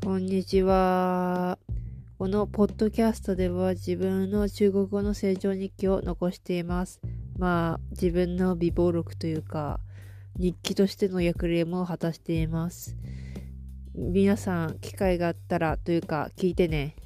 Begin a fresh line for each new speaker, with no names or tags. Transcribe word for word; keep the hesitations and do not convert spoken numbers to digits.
こんにちは。このポッドキャストでは自分の中国語の成長日記を残しています。まあ、自分の備忘録というか、日記としての役割も果たしています。皆さん、機会があったらというか、聞いてね。